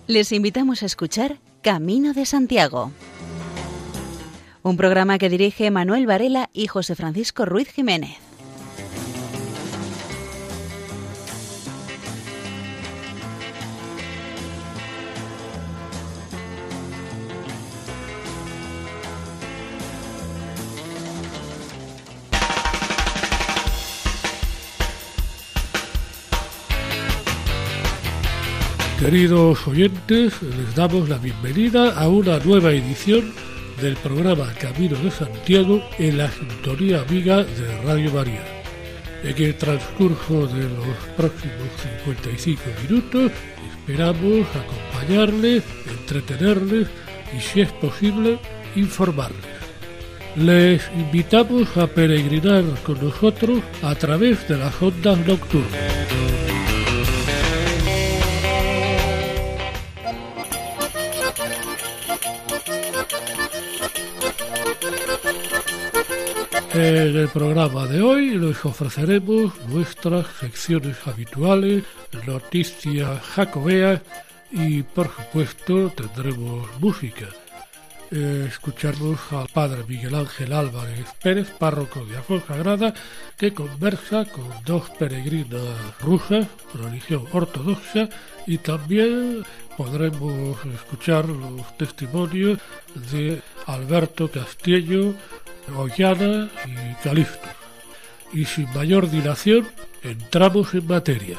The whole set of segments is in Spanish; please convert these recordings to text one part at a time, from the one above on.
Les invitamos a escuchar Camino de Santiago, un programa que dirige Manuel Varela y José Francisco Ruiz Jiménez. Queridos oyentes, les damos la bienvenida a una nueva edición del programa Camino de Santiago en la sintonía amiga de Radio María. En el transcurso de los próximos 55 minutos esperamos acompañarles, entretenerles y, si es posible, informarles. Les invitamos a peregrinar con nosotros a través de las ondas nocturnas. En el programa de hoy les ofreceremos nuestras secciones habituales, noticias jacobeas y, por supuesto, tendremos música. Escuchamos al padre Miguel Ángel Álvarez Pérez, párroco de Afonsagrada, que conversa con dos peregrinas rusas, religión ortodoxa, y también podremos escuchar los testimonios de Alberto Castillo, Ollana y Calixto. Y sin mayor dilación, entramos en materia.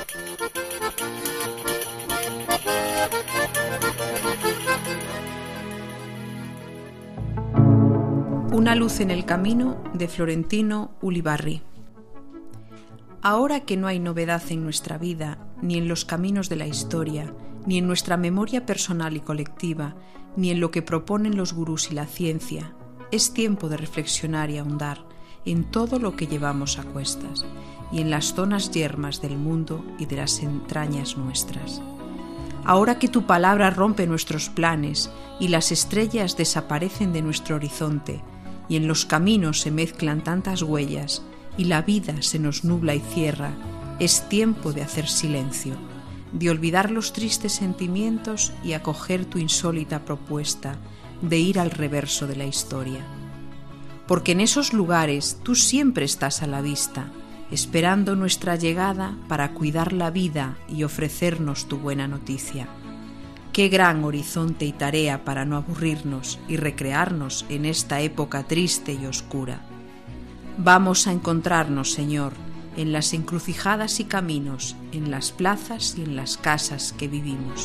Una luz en el camino, de Florentino Ulibarri. Ahora que no hay novedad en nuestra vida, ni en los caminos de la historia, ni en nuestra memoria personal y colectiva, ni en lo que proponen los gurús y la ciencia, es tiempo de reflexionar y ahondar en todo lo que llevamos a cuestas y en las zonas yermas del mundo y de las entrañas nuestras. Ahora que tu palabra rompe nuestros planes y las estrellas desaparecen de nuestro horizonte y en los caminos se mezclan tantas huellas y la vida se nos nubla y cierra, es tiempo de hacer silencio, de olvidar los tristes sentimientos y acoger tu insólita propuesta de ir al reverso de la historia. Porque en esos lugares tú siempre estás a la vista, esperando nuestra llegada para cuidar la vida y ofrecernos tu buena noticia. Qué gran horizonte y tarea para no aburrirnos y recrearnos en esta época triste y oscura. Vamos a encontrarnos, Señor, en las encrucijadas y caminos, en las plazas y en las casas que vivimos.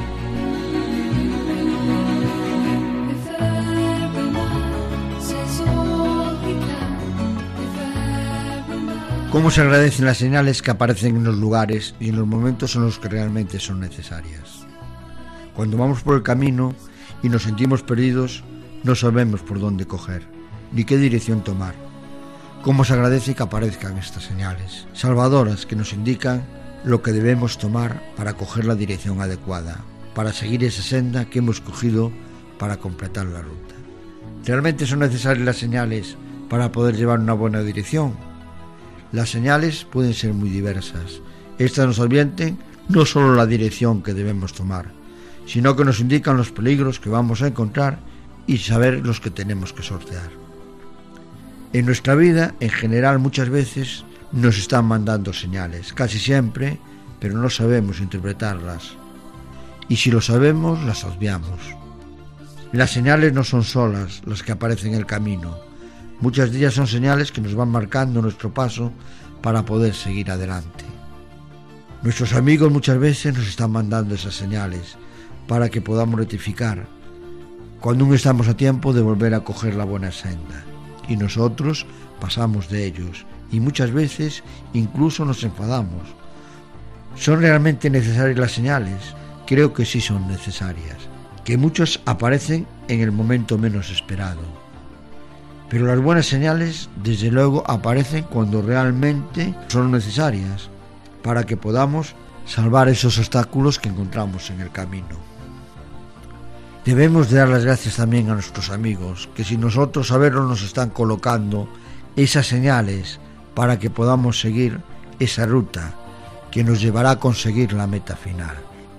¿Cómo se agradecen las señales que aparecen en los lugares y en los momentos en los que realmente son necesarias? Cuando vamos por el camino y nos sentimos perdidos, no sabemos por dónde coger, ni qué dirección tomar. ¿Cómo se agradece que aparezcan estas señales salvadoras que nos indican lo que debemos tomar para coger la dirección adecuada, para seguir esa senda que hemos cogido para completar la ruta? ¿Realmente son necesarias las señales para poder llevar una buena dirección? Las señales pueden ser muy diversas. Estas nos advierten no solo la dirección que debemos tomar, sino que nos indican los peligros que vamos a encontrar y saber los que tenemos que sortear. En nuestra vida, en general, muchas veces nos están mandando señales, casi siempre, pero no sabemos interpretarlas. Y si lo sabemos, las obviamos. Las señales no son solas las que aparecen en el camino. Muchas de ellas son señales que nos van marcando nuestro paso para poder seguir adelante. Nuestros amigos muchas veces nos están mandando esas señales para que podamos rectificar, cuando aún estamos a tiempo de volver a coger la buena senda. Y nosotros pasamos de ellos y muchas veces incluso nos enfadamos. ¿Son realmente necesarias las señales? Creo que sí son necesarias, que muchas aparecen en el momento menos esperado. Pero las buenas señales, desde luego, aparecen cuando realmente son necesarias para que podamos salvar esos obstáculos que encontramos en el camino. Debemos de dar las gracias también a nuestros amigos, que sin nosotros saberlo nos están colocando esas señales para que podamos seguir esa ruta que nos llevará a conseguir la meta final.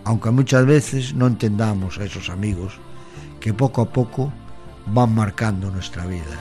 aunque muchas veces no entendamos a esos amigos que poco a poco van marcando nuestra vida.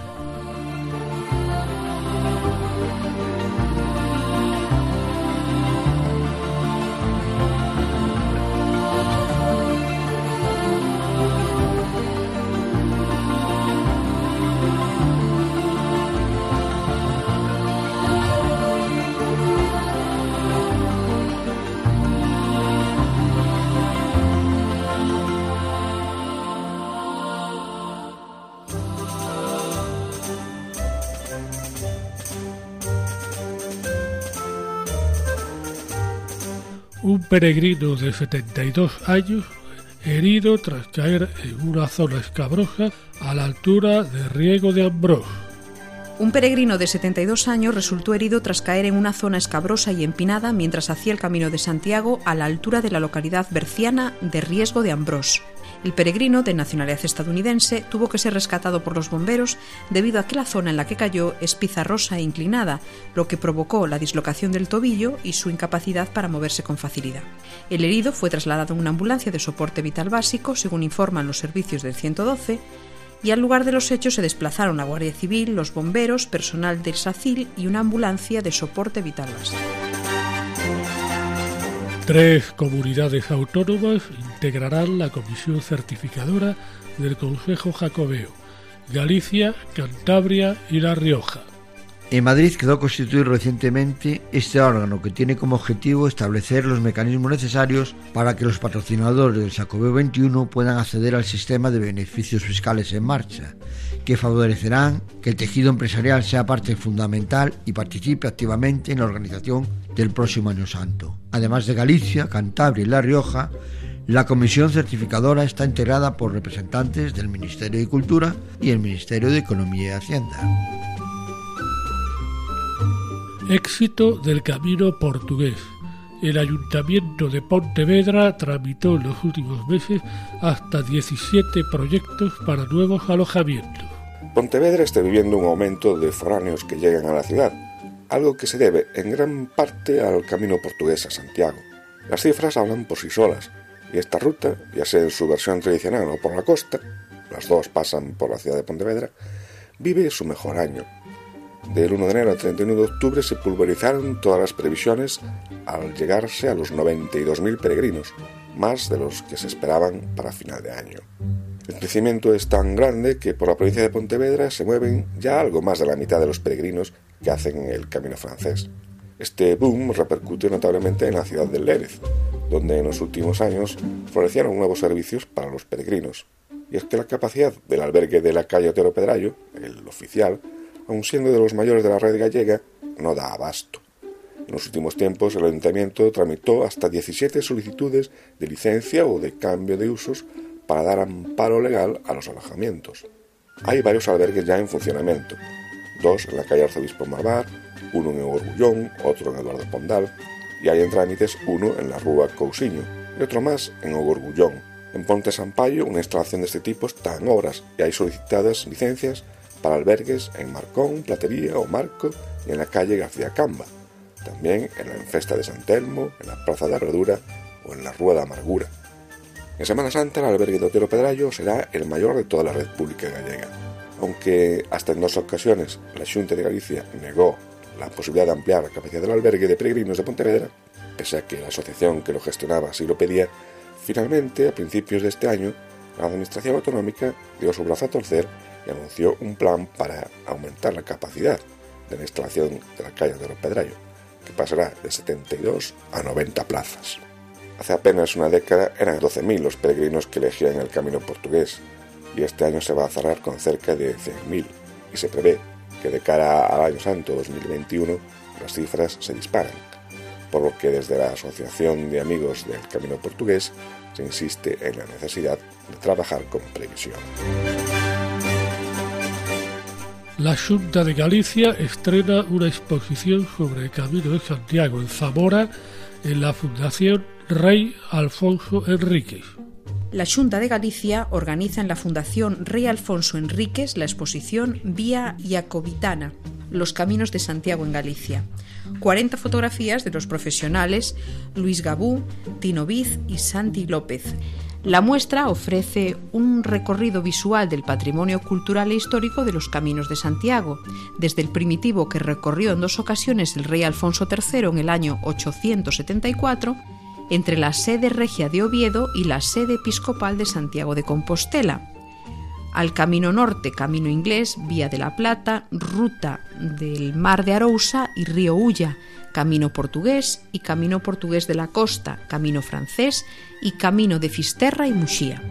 Un peregrino de 72 años herido tras caer en una zona escabrosa a la altura de Riego de Ambrós. Un peregrino de 72 años resultó herido tras caer en una zona escabrosa y empinada mientras hacía el Camino de Santiago a la altura de la localidad berciana de Riego de Ambrós. El peregrino, de nacionalidad estadounidense, tuvo que ser rescatado por los bomberos debido a que la zona en la que cayó es pizarrosa e inclinada, lo que provocó la dislocación del tobillo y su incapacidad para moverse con facilidad. El herido fue trasladado en una ambulancia de soporte vital básico, según informan los servicios del 112, y al lugar de los hechos se desplazaron la Guardia Civil, los bomberos, personal del SACIL y una ambulancia de soporte vital básico. 3 comunidades autónomas integrarán la comisión certificadora del Consejo Jacobeo: Galicia, Cantabria y La Rioja. En Madrid quedó constituido recientemente este órgano que tiene como objetivo establecer los mecanismos necesarios para que los patrocinadores del Xacobeo XXI puedan acceder al sistema de beneficios fiscales en marcha, que favorecerán que el tejido empresarial sea parte fundamental y participe activamente en la organización del próximo Año Santo. Además de Galicia, Cantabria y La Rioja, la comisión certificadora está integrada por representantes del Ministerio de Cultura y el Ministerio de Economía y Hacienda. Éxito del Camino Portugués. El Ayuntamiento de Pontevedra tramitó en los últimos meses hasta 17 proyectos para nuevos alojamientos. Pontevedra está viviendo un aumento de foráneos que llegan a la ciudad, algo que se debe en gran parte al Camino Portugués a Santiago. Las cifras hablan por sí solas, y esta ruta, ya sea en su versión tradicional o por la costa, las dos pasan por la ciudad de Pontevedra, vive su mejor año. Del 1 de enero al 31 de octubre se pulverizaron todas las previsiones al llegarse a los 92.000 peregrinos, más de los que se esperaban para final de año. El crecimiento es tan grande que por la provincia de Pontevedra se mueven ya algo más de la mitad de los peregrinos que hacen el camino francés. Este boom repercute notablemente en la ciudad de Lérez, donde en los últimos años florecieron nuevos servicios para los peregrinos. Y es que la capacidad del albergue de la calle Otero Pedrayo, el oficial, aun siendo de los mayores de la red gallega, no da abasto. En los últimos tiempos el Ayuntamiento tramitó hasta 17 solicitudes de licencia o de cambio de usos para dar amparo legal a los alojamientos. Hay varios albergues ya en funcionamiento, 2 en la calle Arzobispo Marvar, uno en Ogorgullón, otro en Eduardo Pondal, y hay en trámites uno en la Rúa Cousiño y otro más en Ogorgullón. En Ponte Sampaio una instalación de este tipo está en obras y hay solicitadas licencias para albergues en Marcón, Platería o Marco y en la calle García Camba, también en la Enfesta de San Telmo, en la Plaza de Herradura o en la Rúa de Amargura. En Semana Santa el albergue de Otero Pedrayo será el mayor de toda la red pública gallega, aunque hasta en 2 ocasiones la Xunta de Galicia negó la posibilidad de ampliar la capacidad del albergue de peregrinos de Pontevedra, pese a que la asociación que lo gestionaba así lo pedía. Finalmente, a principios de este año, la Administración Autonómica dio su brazo a torcer y anunció un plan para aumentar la capacidad de la instalación de la calle Otero Pedrayo, que pasará de 72 a 90 plazas. Hace apenas una década eran 12.000 los peregrinos que elegían el camino portugués, y este año se va a cerrar con cerca de 100.000, y se prevé que de cara al Año Santo 2021 las cifras se disparan, por lo que desde la Asociación de Amigos del Camino Portugués se insiste en la necesidad de trabajar con previsión. La Xunta de Galicia estrena una exposición sobre el Camino de Santiago en Zamora en la Fundación Rey Alfonso Enríquez. La Xunta de Galicia organiza en la Fundación Rey Alfonso Enríquez la exposición Vía Iacobitana, los caminos de Santiago en Galicia, 40 fotografías de los profesionales Luis Gabú, Tino Viz y Santi López. La muestra ofrece un recorrido visual del patrimonio cultural e histórico de los Caminos de Santiago, desde el primitivo que recorrió en 2 ocasiones el rey Alfonso III en el año 874, entre la sede regia de Oviedo y la sede episcopal de Santiago de Compostela, al camino norte, camino inglés, Vía de la Plata, ruta del Mar de Arousa y río Ulla, camino portugués y camino portugués de la costa, camino francés y camino de Fisterra y Muxía.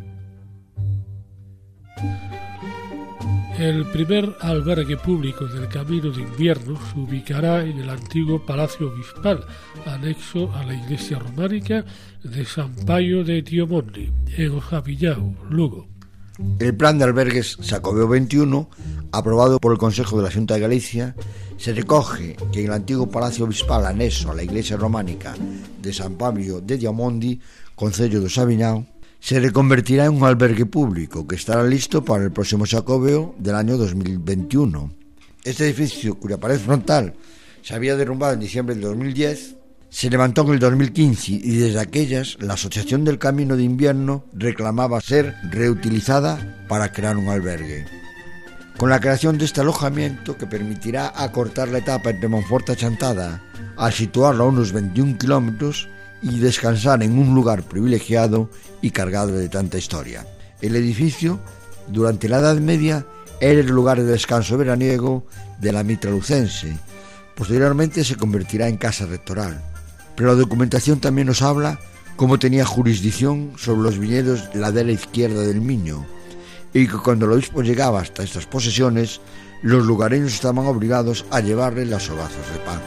El primer albergue público del Camino de Invierno se ubicará en el antiguo Palacio Obispal, anexo a la iglesia románica de San Paio de Tiomondi, en Ojavillao, Lugo. El plan de albergues Xacobeo 21, aprobado por el Consejo de la Xunta de Galicia, se recoge que en el antiguo Palacio Obispal anexo a la iglesia románica de San Paio de Tiomondi, concello de Xaviñao, se reconvertirá en un albergue público que estará listo para el próximo Xacobeo del año 2021. Este edificio, cuya pared frontal se había derrumbado en diciembre del 2010, se levantó en el 2015 y desde aquellas la Asociación del Camino de Invierno reclamaba ser reutilizada para crear un albergue. Con la creación de este alojamiento, que permitirá acortar la etapa entre Monforte y Chantada al situarlo a unos 21 kilómetros y descansar en un lugar privilegiado y cargado de tanta historia. El edificio, durante la Edad Media, era el lugar de descanso veraniego de la mitra lucense. Posteriormente se convertirá en casa rectoral. Pero la documentación también nos habla cómo tenía jurisdicción sobre los viñedos de la ladera izquierda del Miño, y que cuando el obispo llegaba hasta estas posesiones, los lugareños estaban obligados a llevarle las hogazas de pan.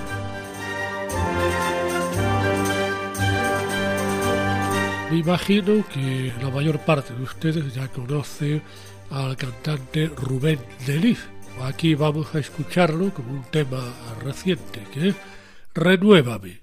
Me imagino que la mayor parte de ustedes ya conoce al cantante Rubén de Liz. Aquí vamos a escucharlo con un tema reciente, que es Renuévame.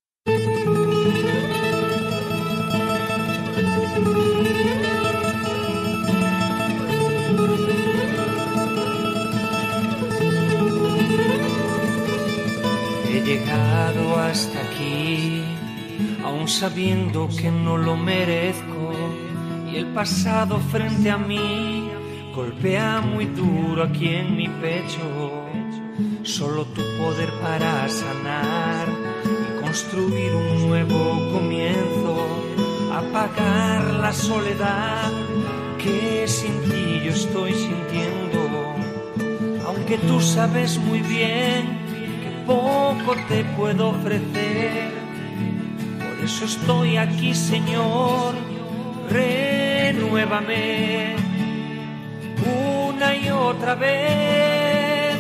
He llegado hasta aquí, aún sabiendo que no lo merezco, y el pasado frente a mí golpea muy duro aquí en mi pecho. Solo tu poder para sanar y construir un nuevo comienzo, apagar la soledad que sin ti yo estoy sintiendo. Aunque tú sabes muy bien poco te puedo ofrecer, por eso estoy aquí, Señor. Renuévame una y otra vez,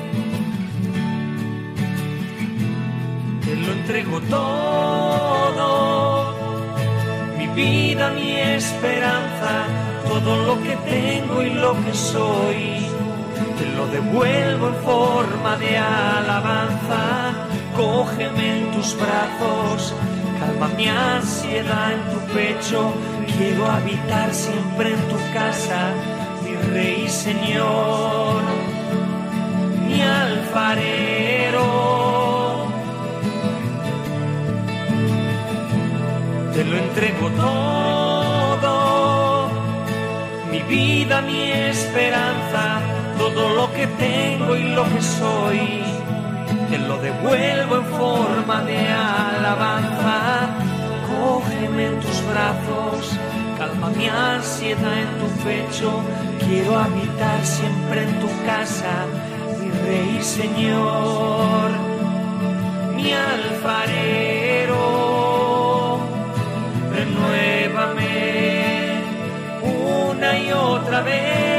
te lo entrego todo, mi vida, mi esperanza, todo lo que tengo y lo que soy. Te lo devuelvo en forma de alabanza. Cógeme en tus brazos, calma mi ansiedad en tu pecho. Quiero habitar siempre en tu casa, mi Rey y Señor, mi alfarero. Te lo entrego todo, mi vida, mi esperanza, todo lo que tengo y lo que soy, te lo devuelvo en forma de alabanza. Cógeme en tus brazos, calma mi ansiedad en tu pecho. Quiero habitar siempre en tu casa, mi Rey y Señor, mi alfarero. Renuévame una y otra vez.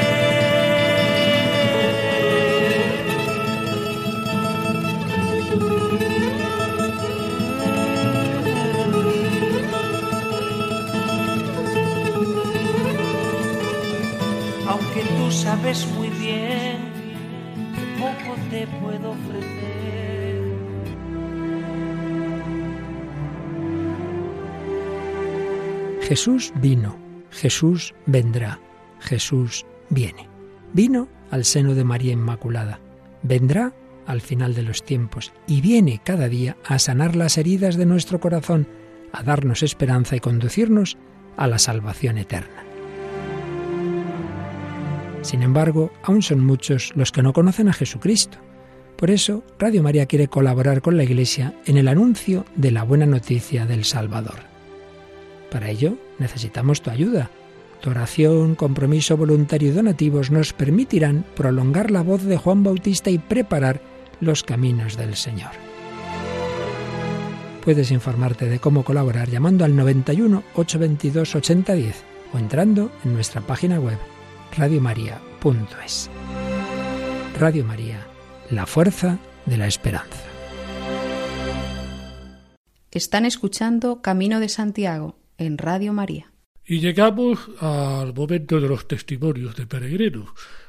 Aunque tú sabes muy bien que poco te puedo ofrecer. Jesús vino, Jesús vendrá, Jesús viene. Vino al seno de María Inmaculada, vendrá al final de los tiempos y viene cada día a sanar las heridas de nuestro corazón, a darnos esperanza y conducirnos a la salvación eterna. Sin embargo, aún son muchos los que no conocen a Jesucristo. Por eso, Radio María quiere colaborar con la Iglesia en el anuncio de la buena noticia del Salvador. Para ello, necesitamos tu ayuda. Tu oración, compromiso voluntario y donativos nos permitirán prolongar la voz de Juan Bautista y preparar los caminos del Señor. Puedes informarte de cómo colaborar llamando al 91 822 8010 o entrando en nuestra página web radiomaria.es. Radio María, la fuerza de la esperanza. Están escuchando Camino de Santiago en Radio María. Y llegamos al momento de los testimonios de peregrinos.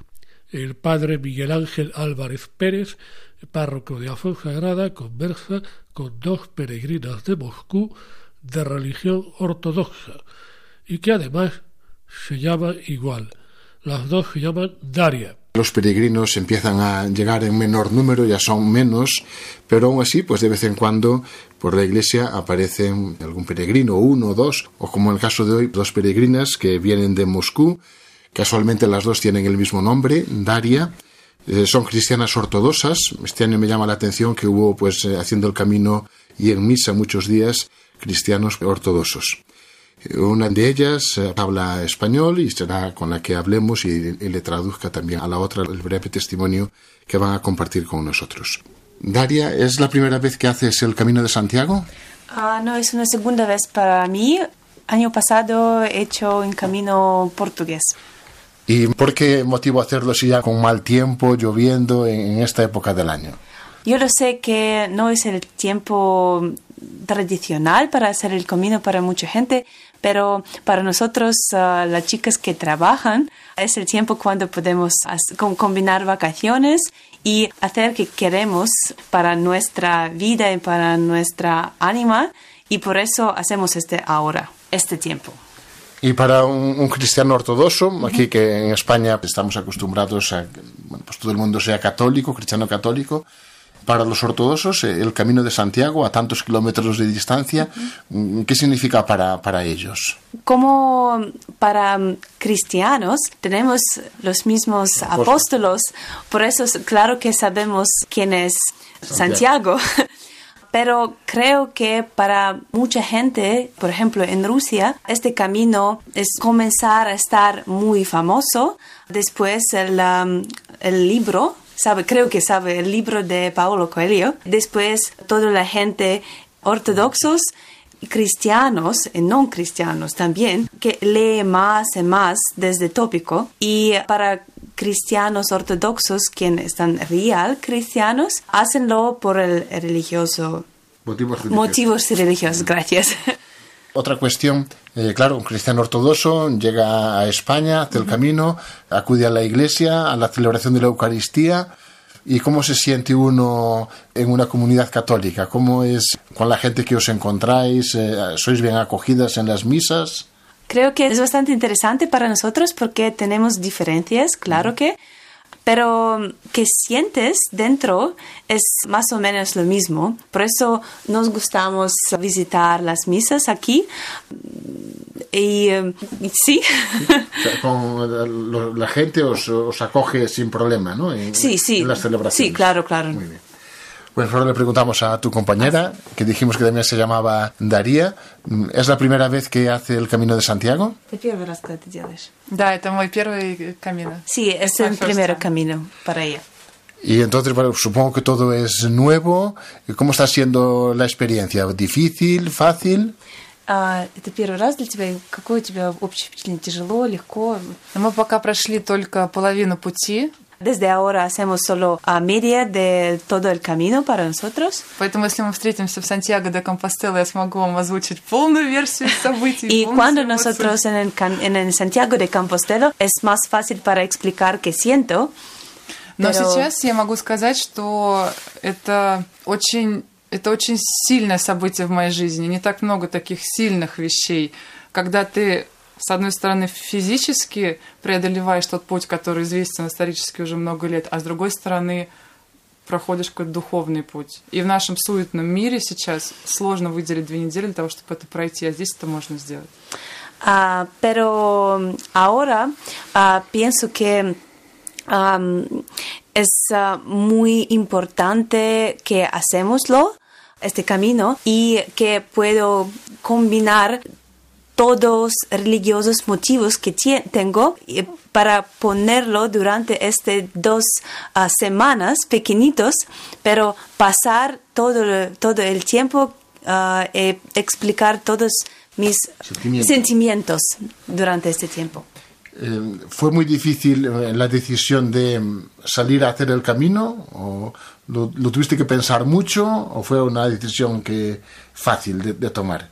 El padre Miguel Ángel Álvarez Pérez, párroco de Afonsagrada, conversa con dos peregrinas de Moscú de religión ortodoxa y que además se llaman igual. Las dos se llaman Daria. Los peregrinos empiezan a llegar en menor número, ya son menos, pero aún así, pues de vez en cuando por la iglesia aparecen algún peregrino, uno o dos, o como en el caso de hoy, dos peregrinas que vienen de Moscú. Casualmente las dos tienen el mismo nombre, Daria. Son cristianas ortodoxas. Este año me llama la atención que hubo, pues, haciendo el camino y en misa muchos días, cristianos ortodoxos. Una de ellas habla español y será con la que hablemos y le traduzca también a la otra el breve testimonio que van a compartir con nosotros. Daria, ¿es la primera vez que haces el Camino de Santiago? No, es una segunda vez para mí. Año pasado he hecho un camino portugués. ¿Y por qué motivo hacerlo si ya con mal tiempo, lloviendo en esta época del año? Yo lo sé que no es el tiempo tradicional para hacer el camino para mucha gente, pero para nosotros, las chicas que trabajan, es el tiempo cuando podemos combinar vacaciones y hacer que queremos para nuestra vida y para nuestra ánima, y por eso hacemos este tiempo. Y para un cristiano ortodoxo, aquí que en España estamos acostumbrados a que pues todo el mundo sea católico, cristiano católico, para los ortodoxos el Camino de Santiago a tantos kilómetros de distancia, ¿qué significa para ellos? Como para cristianos tenemos los mismos apóstolos, por eso claro que sabemos quién es Santiago. Pero creo que para mucha gente, por ejemplo en Rusia, este camino es comenzar a estar muy famoso. Después el libro, creo que sabe el libro de Paulo Coelho. Después toda la gente ortodoxos, cristianos y no cristianos también, que lee más y más desde tópico. Y para cristianos ortodoxos, quienes están real cristianos, hacenlo por el religioso. Motivos religiosos, gracias. Otra cuestión, claro, un cristiano ortodoxo llega a España, hace el camino, acude a la iglesia, a la celebración de la Eucaristía. ¿Y cómo se siente uno en una comunidad católica? ¿Cómo es con la gente que os encontráis? ¿Sois bien acogidas en las misas? Creo que es bastante interesante para nosotros porque tenemos diferencias, claro que, pero que sientes dentro es más o menos lo mismo. Por eso nos gustamos visitar las misas aquí. Y sí. O sea, con la gente os acoge sin problema, ¿no? Sí. En las celebraciones. Sí, claro. Muy bien. Pues ahora le preguntamos a tu compañera, que dijimos que también se llamaba Daria. ¿Es la primera vez que hace el Camino de Santiago? ¿Es первый раз que te делаешь? Да, это мой первый camino. Sí, es el primer camino para ella. Y entonces, bueno, supongo que todo es nuevo. ¿Cómo está siendo la experiencia? ¿Difícil? ¿Fácil? Это первый раз для тебя. Какое у тебя общее впечатление? Тяжело, легко? Мы пока прошли только половину пути. Desde ahora hacemos solo a media de todo el camino para nosotros. Поэтому, если мы встретимся в Сантьяго де Компостела, я смогу вам озвучить полную версию событий. Y cuando nosotros en el Santiago de Compostela es más fácil para explicar qué siento. Но сейчас я могу сказать, что это очень сильное событие в моей жизни. Не так много таких сильных вещей, когда ты, с одной стороны, физически преодолеваешь тот путь, который известен исторически уже много лет, а с другой стороны, проходишь какой-то духовный путь. И в нашем суетном мире сейчас сложно выделить 2 недели для того, чтобы это пройти, а здесь это можно сделать. Pero ahora pienso que es muy importante que hacemoslo, este camino, y que puedo combinar todos religiosos motivos que tengo para ponerlo durante estas 2 semanas pequeñitos, pero pasar todo el tiempo y explicar todos mis sentimientos durante este tiempo. ¿Fue muy difícil la decisión de salir a hacer el camino? ¿O lo tuviste que pensar mucho? ¿O fue una decisión fácil de tomar?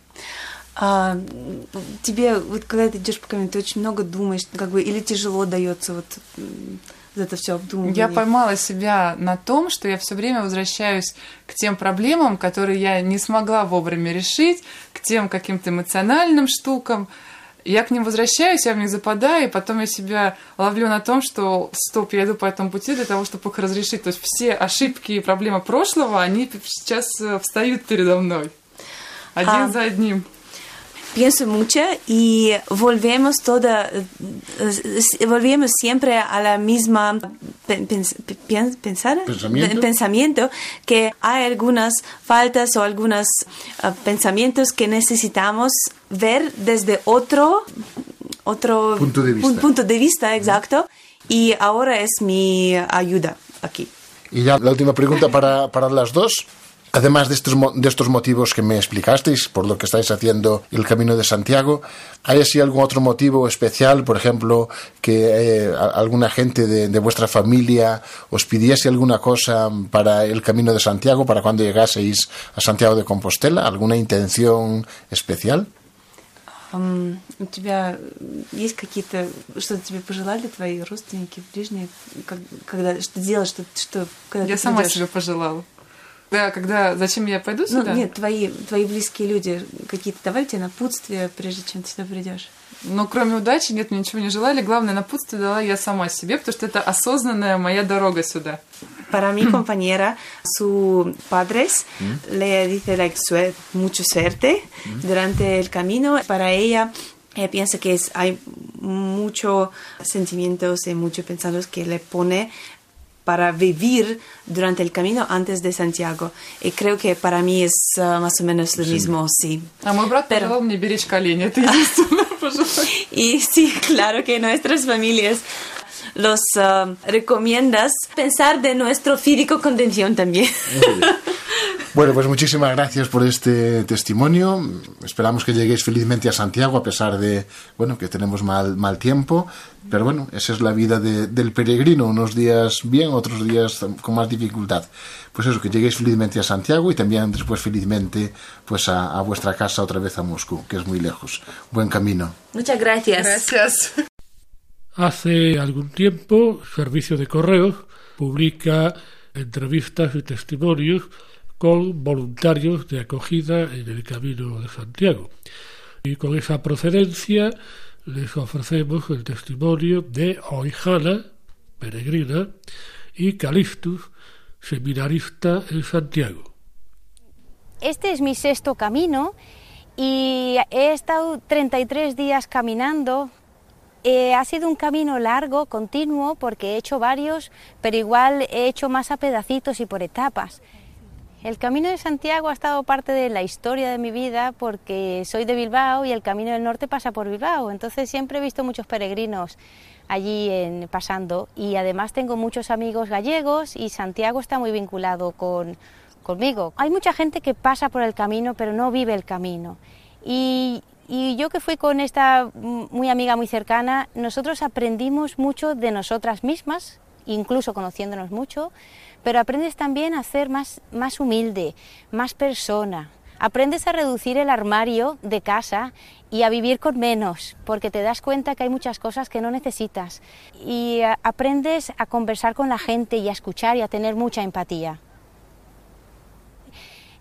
Тебе, вот когда ты идешь по камню, ты очень много думаешь, как бы, или тяжело дается вот это все обдумывание? Я поймала себя на том, что я все время возвращаюсь к тем проблемам, которые я не смогла вовремя решить, к тем каким-то эмоциональным штукам. Я к ним возвращаюсь, я в них западаю, и потом я себя ловлю на том, что стоп, я иду по этому пути для того, чтобы их разрешить. То есть все ошибки и проблемы прошлого, они сейчас встают передо мной. Один за одним. Pienso mucho y volvemos siempre a la misma pensamiento, que hay algunas faltas o algunos pensamientos que necesitamos ver desde otro punto de vista, exacto, y ahora es mi ayuda aquí. Y ya la última pregunta para las dos. Además de estos motivos que me explicasteis, por lo que estáis haciendo el Camino de Santiago, ¿hay así algún otro motivo especial? Por ejemplo, que alguna gente de vuestra familia os pidiese alguna cosa para el Camino de Santiago, para cuando llegaseis a Santiago de Compostela, ¿alguna intención especial? У тебя есть какие-то, что-то тебе пожелали твои родственники, ближние, когда что делать, что когда я ты сама придёшь? себе пожелала. Да, зачем я пойду сюда? Нет, твои близкие люди какие-то давали тебе напутствия, prежде чем ты сюда придешь? Но кроме удачи, нет, мне ничего не желали. Главное, напутствие дала я сама себе, потому что это осознанная моя дорога сюда. Para mi compañera, sus padres le dicen mucha suerte durante el camino. Para ella piensa que hay muchos sentimientos y muchos pensamientos que le pone para vivir durante el camino antes de Santiago. Y creo que para mí es más o menos lo mismo, sí. А мой брат пожелал мне беречь колени, это единственное пожелание. Y sí, claro que nuestras familias los recomiendas pensar de nuestro físico contención también. Bueno, pues muchísimas gracias por este testimonio. Esperamos que lleguéis felizmente a Santiago a pesar de, bueno, que tenemos mal tiempo. Pero bueno, esa es la vida del peregrino. Unos días bien, otros días con más dificultad. Pues eso, que lleguéis felizmente a Santiago y también después felizmente pues a vuestra casa otra vez a Moscú, que es muy lejos. Buen camino. Muchas gracias. Gracias. Hace algún tiempo, Servicio de Correos publica entrevistas y testimonios con voluntarios de acogida en el Camino de Santiago. Y con esa procedencia les ofrecemos el testimonio de Oihana, peregrina, y Calistus, seminarista en Santiago. Este es mi 6º camino y he estado 33 días caminando. Ha sido un camino largo, continuo, porque he hecho varios, pero igual he hecho más a pedacitos y por etapas. El Camino de Santiago ha estado parte de la historia de mi vida porque soy de Bilbao y el Camino del Norte pasa por Bilbao, entonces siempre he visto muchos peregrinos allí pasando y además tengo muchos amigos gallegos y Santiago está muy vinculado conmigo. Hay mucha gente que pasa por el camino pero no vive el camino y yo que fui con esta muy amiga muy cercana, nosotros aprendimos mucho de nosotras mismas, incluso conociéndonos mucho, pero aprendes también a ser más humilde, más persona. Aprendes a reducir el armario de casa y a vivir con menos, porque te das cuenta que hay muchas cosas que no necesitas. Y aprendes a conversar con la gente y a escuchar y a tener mucha empatía.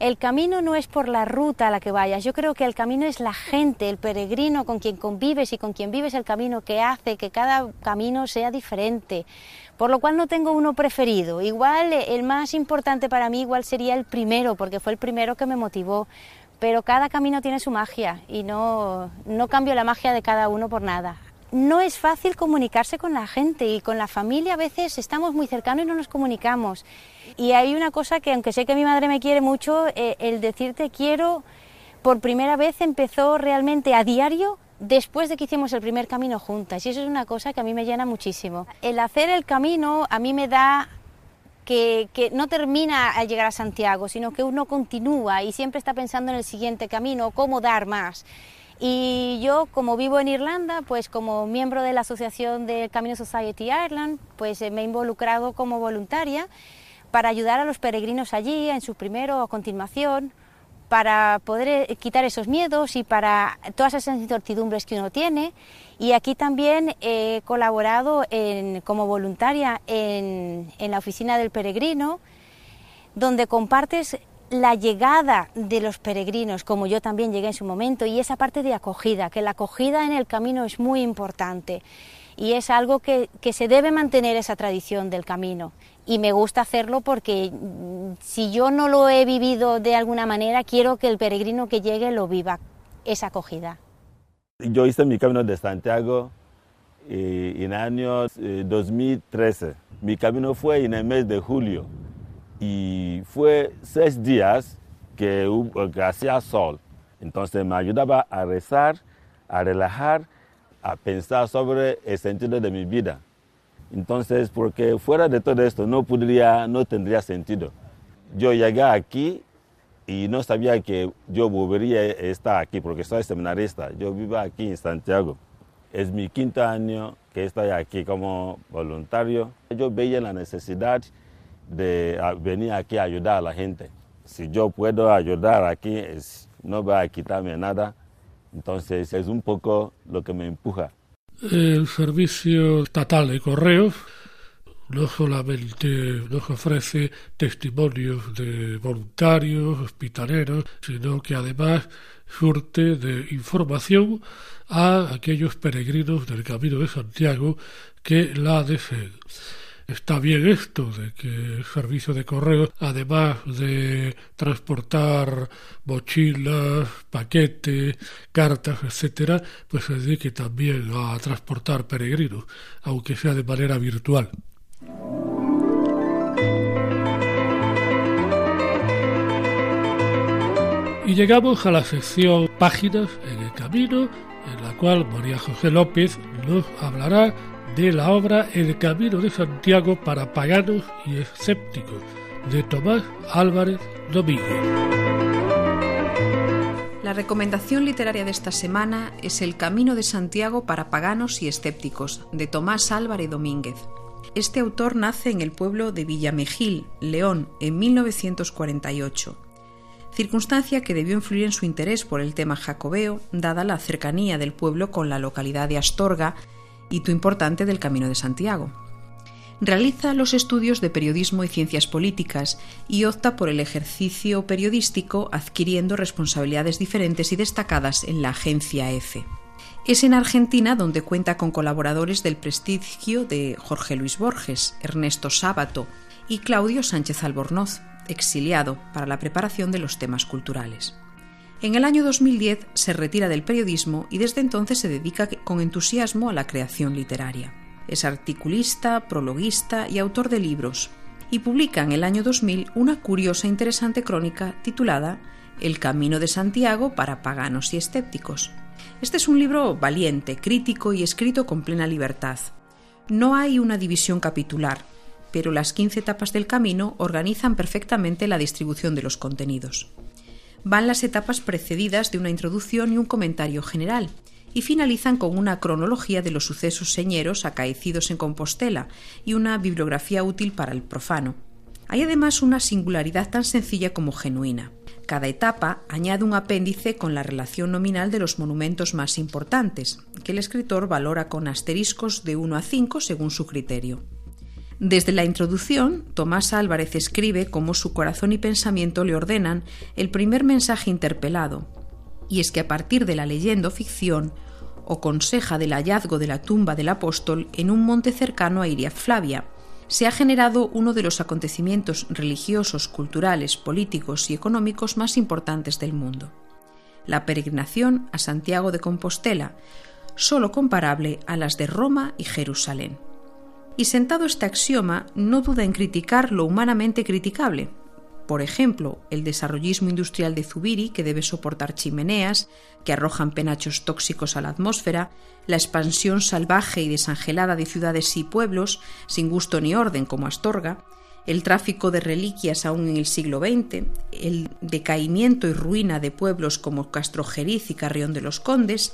el camino no es por la ruta a la que vayas, yo creo que el camino es la gente, el peregrino con quien convives y con quien vives el camino, que hace que cada camino sea diferente. Por lo cual no tengo uno preferido. Igual el más importante para mí igual sería el primero, porque fue el primero que me motivó. Pero cada camino tiene su magia y no cambio la magia de cada uno por nada. No es fácil comunicarse con la gente y con la familia a veces estamos muy cercanos y no nos comunicamos. Y hay una cosa que, aunque sé que mi madre me quiere mucho, el decirte quiero, por primera vez empezó realmente a diario después de que hicimos el primer camino juntas, y eso es una cosa que a mí me llena muchísimo. El hacer el camino a mí me da que no termina al llegar a Santiago, sino que uno continúa y siempre está pensando en el siguiente camino, cómo dar más. Y yo, como vivo en Irlanda, pues como miembro de la asociación del Camino Society Ireland, pues me he involucrado como voluntaria para ayudar a los peregrinos allí, en su primero o continuación, para poder quitar esos miedos y para todas esas incertidumbres que uno tiene. Y aquí también he colaborado como voluntaria en la oficina del peregrino, donde compartes la llegada de los peregrinos, como yo también llegué en su momento, y esa parte de acogida, que la acogida en el camino es muy importante. Y es algo que se debe mantener, esa tradición del camino. Y me gusta hacerlo porque si yo no lo he vivido de alguna manera, quiero que el peregrino que llegue lo viva, esa acogida. Yo hice mi camino de Santiago en el año 2013. Mi camino fue en el mes de julio y fue 6 días que hacía sol. Entonces me ayudaba a rezar, a relajar, a pensar sobre el sentido de mi vida. Entonces, porque fuera de todo esto no tendría sentido. Yo llegué aquí y no sabía que yo volvería a estar aquí porque soy seminarista. Yo vivo aquí en Santiago. Es mi 5º año que estoy aquí como voluntario. Yo veía la necesidad de venir aquí a ayudar a la gente. Si yo puedo ayudar aquí, no va a quitarme nada. Entonces, es un poco lo que me empuja. El Servicio Estatal de Correos no solamente nos ofrece testimonios de voluntarios, hospitaleros, sino que además surte de información a aquellos peregrinos del Camino de Santiago que la deseen. Está bien esto de que el servicio de correos, además de transportar mochilas, paquetes, cartas, etcétera, pues se dedique también a transportar peregrinos, aunque sea de manera virtual. Y llegamos a la sección Páginas en el Camino, en la cual María José López nos hablará de la obra El Camino de Santiago para paganos y escépticos, de Tomás Álvarez Domínguez. La recomendación literaria de esta semana es El Camino de Santiago para paganos y escépticos, de Tomás Álvarez Domínguez. Este autor nace en el pueblo de Villamejil, León, en 1948, circunstancia que debió influir en su interés por el tema jacobeo, dada la cercanía del pueblo con la localidad de Astorga, hito importante del Camino de Santiago. Realiza los estudios de periodismo y ciencias políticas y opta por el ejercicio periodístico, adquiriendo responsabilidades diferentes y destacadas en la agencia EFE. Es en Argentina donde cuenta con colaboradores del prestigio de Jorge Luis Borges, Ernesto Sábato y Claudio Sánchez Albornoz, exiliado, para la preparación de los temas culturales. En el año 2010 se retira del periodismo y desde entonces se dedica con entusiasmo a la creación literaria. Es articulista, prologuista y autor de libros, y publica en el año 2000 una curiosa e interesante crónica titulada El Camino de Santiago para paganos y escépticos. Este es un libro valiente, crítico y escrito con plena libertad. No hay una división capitular, pero las 15 etapas del camino organizan perfectamente la distribución de los contenidos. Van las etapas precedidas de una introducción y un comentario general, y finalizan con una cronología de los sucesos señeros acaecidos en Compostela y una bibliografía útil para el profano. Hay además una singularidad tan sencilla como genuina. Cada etapa añade un apéndice con la relación nominal de los monumentos más importantes, que el escritor valora con asteriscos de 1 a 5 según su criterio. Desde la introducción, Tomás Álvarez escribe cómo su corazón y pensamiento le ordenan el primer mensaje interpelado, y es que a partir de la leyenda o ficción, o conseja del hallazgo de la tumba del apóstol en un monte cercano a Iria Flavia, se ha generado uno de los acontecimientos religiosos, culturales, políticos y económicos más importantes del mundo: la peregrinación a Santiago de Compostela, solo comparable a las de Roma y Jerusalén. Y sentado este axioma, no duda en criticar lo humanamente criticable. Por ejemplo, el desarrollismo industrial de Zubiri, que debe soportar chimeneas que arrojan penachos tóxicos a la atmósfera, la expansión salvaje y desangelada de ciudades y pueblos, sin gusto ni orden como Astorga, el tráfico de reliquias aún en el siglo XX, el decaimiento y ruina de pueblos como Castrojeriz y Carrión de los Condes,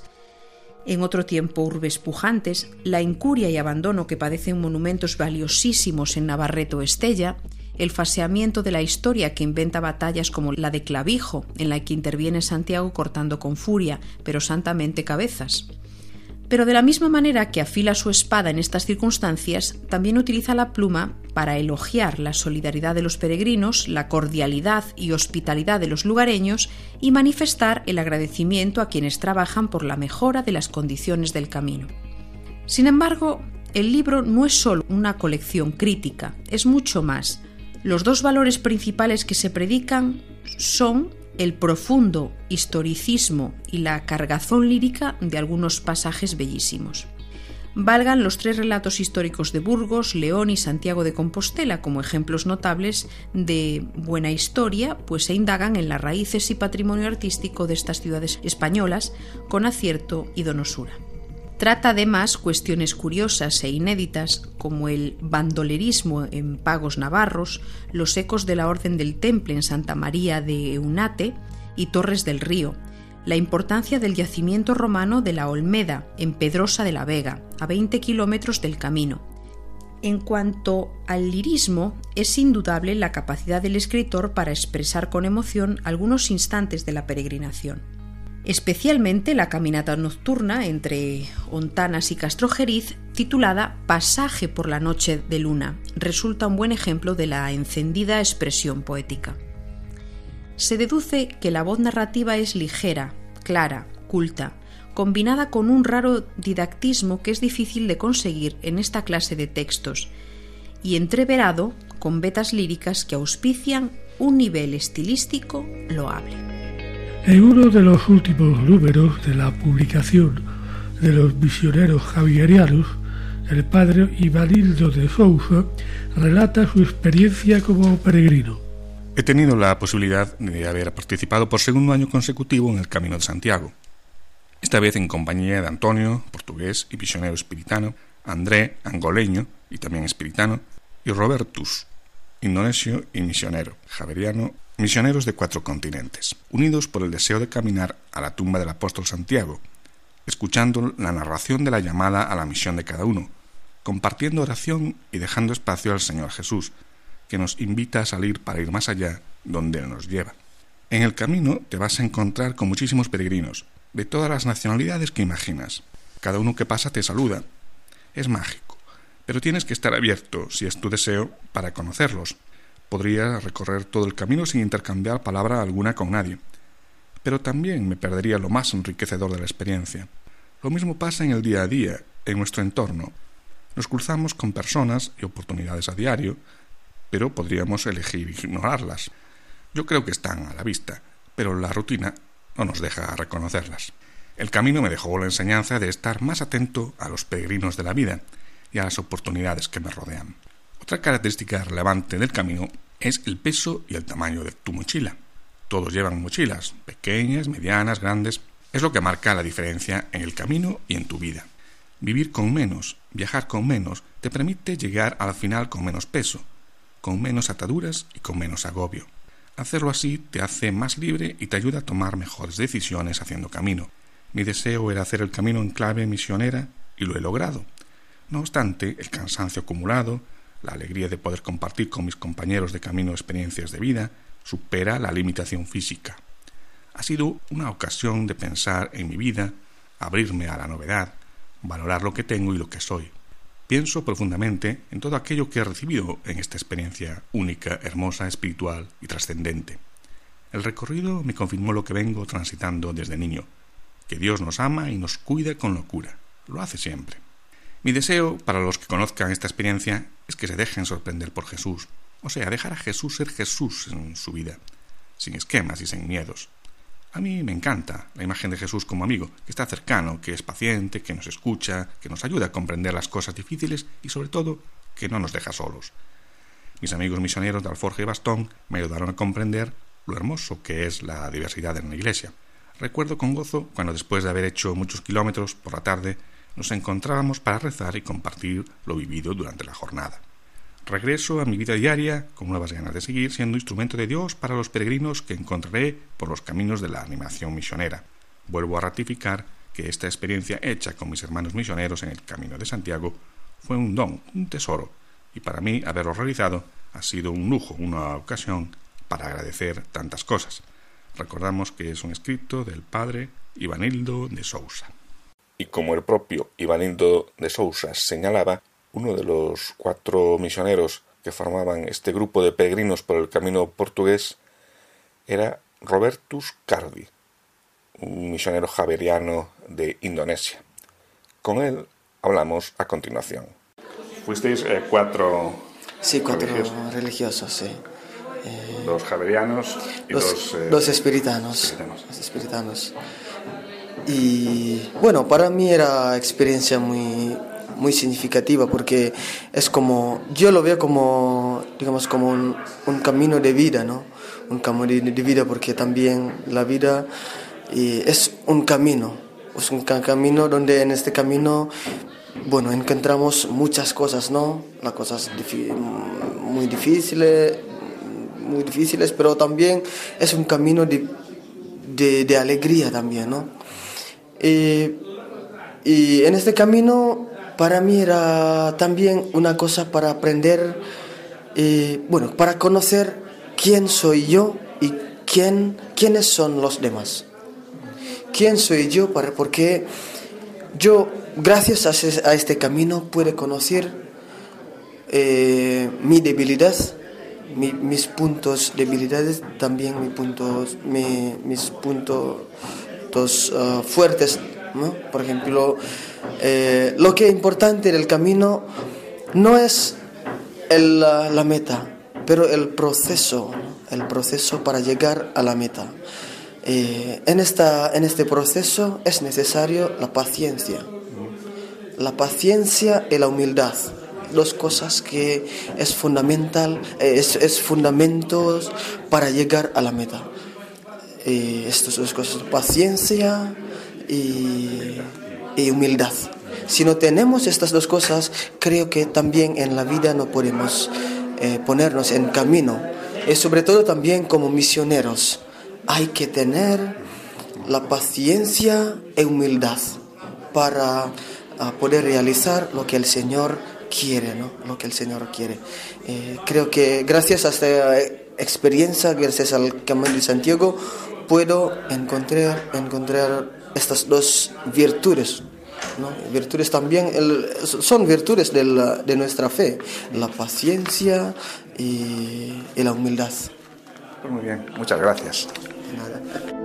en otro tiempo urbes pujantes, la incuria y abandono que padecen monumentos valiosísimos en Navarrete o Estella, el falseamiento de la historia que inventa batallas como la de Clavijo, en la que interviene Santiago cortando con furia, pero santamente cabezas. Pero de la misma manera que afila su espada en estas circunstancias, también utiliza la pluma para elogiar la solidaridad de los peregrinos, la cordialidad y hospitalidad de los lugareños y manifestar el agradecimiento a quienes trabajan por la mejora de las condiciones del camino. Sin embargo, el libro no es solo una colección crítica, es mucho más. Los dos valores principales que se predican son el profundo historicismo y la cargazón lírica de algunos pasajes bellísimos. Valgan los 3 relatos históricos de Burgos, León y Santiago de Compostela como ejemplos notables de buena historia, pues se indagan en las raíces y patrimonio artístico de estas ciudades españolas con acierto y donosura. Trata además cuestiones curiosas e inéditas como el bandolerismo en pagos navarros, los ecos de la Orden del Temple en Santa María de Eunate y Torres del Río, la importancia del yacimiento romano de la Olmeda en Pedrosa de la Vega, a 20 kilómetros del camino. En cuanto al lirismo, es indudable la capacidad del escritor para expresar con emoción algunos instantes de la peregrinación. Especialmente la caminata nocturna entre Ontanas y Castrojeriz, titulada Pasaje por la noche de luna, resulta un buen ejemplo de la encendida expresión poética. Se deduce que la voz narrativa es ligera, clara, culta, combinada con un raro didactismo que es difícil de conseguir en esta clase de textos, y entreverado con vetas líricas que auspician un nivel estilístico loable. En uno de los últimos números de la publicación de los misioneros javerianos, el padre Ivanildo de Sousa relata su experiencia como peregrino. He tenido la posibilidad de haber participado por segundo año consecutivo en el Camino de Santiago, esta vez en compañía de Antonio, portugués y misionero espiritano, André, angoleño y también espiritano, y Robertus, indonesio y misionero, javeriano, misioneros de 4 continentes, unidos por el deseo de caminar a la tumba del apóstol Santiago, escuchando la narración de la llamada a la misión de cada uno, compartiendo oración y dejando espacio al Señor Jesús, que nos invita a salir para ir más allá donde Él nos lleva. En el camino te vas a encontrar con muchísimos peregrinos, de todas las nacionalidades que imaginas. Cada uno que pasa te saluda. Es mágico, pero tienes que estar abierto, si es tu deseo, para conocerlos. Podría recorrer todo el camino sin intercambiar palabra alguna con nadie, pero también me perdería lo más enriquecedor de la experiencia. Lo mismo pasa en el día a día, en nuestro entorno. Nos cruzamos con personas y oportunidades a diario, pero podríamos elegir ignorarlas. Yo creo que están a la vista, pero la rutina no nos deja reconocerlas. El camino me dejó la enseñanza de estar más atento a los peregrinos de la vida y a las oportunidades que me rodean. Otra característica relevante del camino es el peso y el tamaño de tu mochila. Todos llevan mochilas, pequeñas, medianas, grandes. Es lo que marca la diferencia en el camino y en tu vida. Vivir con menos, viajar con menos, te permite llegar al final con menos peso, con menos ataduras y con menos agobio. Hacerlo así te hace más libre y te ayuda a tomar mejores decisiones haciendo camino. Mi deseo era hacer el camino en clave misionera y lo he logrado. No obstante, el cansancio acumulado, la alegría de poder compartir con mis compañeros de camino experiencias de vida, supera la limitación física. Ha sido una ocasión de pensar en mi vida, abrirme a la novedad, valorar lo que tengo y lo que soy. Pienso profundamente en todo aquello que he recibido en esta experiencia única, hermosa, espiritual y trascendente. El recorrido me confirmó lo que vengo transitando desde niño, que Dios nos ama y nos cuida con locura. Lo hace siempre. Mi deseo para los que conozcan esta experiencia es que se dejen sorprender por Jesús, o sea, dejar a Jesús ser Jesús en su vida, sin esquemas y sin miedos. A mí me encanta la imagen de Jesús como amigo, que está cercano, que es paciente, que nos escucha, que nos ayuda a comprender las cosas difíciles y, sobre todo, que no nos deja solos. Mis amigos misioneros de Alforja y Bastón me ayudaron a comprender lo hermoso que es la diversidad en la Iglesia. Recuerdo con gozo cuando, después de haber hecho muchos kilómetros por la tarde, nos encontrábamos para rezar y compartir lo vivido durante la jornada. Regreso a mi vida diaria con nuevas ganas de seguir siendo instrumento de Dios para los peregrinos que encontraré por los caminos de la animación misionera. Vuelvo a ratificar que esta experiencia hecha con mis hermanos misioneros en el Camino de Santiago fue un don, un tesoro, y para mí haberlo realizado ha sido un lujo, una ocasión para agradecer tantas cosas. Recordamos que es un escrito del padre Ivanildo de Sousa. Y como el propio Ivanildo de Sousa señalaba, uno de los 4 misioneros que formaban este grupo de peregrinos por el camino portugués era Robertus Cardi, un misionero javeriano de Indonesia. Con él hablamos a continuación. ¿Fuisteis 4 Sí, 4 religiosos, sí. 2 javerianos y 2 espiritanos. Y bueno, para mí era experiencia muy significativa porque es como, yo lo veo como, digamos, como un camino de vida, ¿no? Un camino de vida porque también la vida es un camino donde en este camino, bueno, encontramos muchas cosas, ¿no? Las cosas muy difíciles, pero también es un camino de alegría también, ¿no? Y en este camino para mí era también una cosa para aprender, para conocer quién soy yo y quiénes son los demás. ¿Quién soy yo? Porque yo, gracias a este camino, puedo conocer mi debilidad, mis puntos debilidades, también mis puntos fuertes, ¿no? Por ejemplo, lo que es importante del camino no es la meta, pero el proceso para llegar a la meta. En este proceso es necesario la paciencia y la humildad, 2 cosas que es fundamentos para llegar a la meta. Estas 2 cosas, paciencia y humildad. Si no tenemos estas 2 cosas, creo que también en la vida no podemos ponernos en camino. Y sobre todo también como misioneros, hay que tener la paciencia y humildad para poder realizar lo que el Señor quiere, ¿no? Lo que el Señor quiere. Creo que gracias a esta experiencia, gracias al Camino de Santiago, puedo encontrar estas 2 virtudes, ¿no? Virtudes también son virtudes de nuestra fe, la paciencia y la humildad. Pues muy bien, muchas gracias. Nada.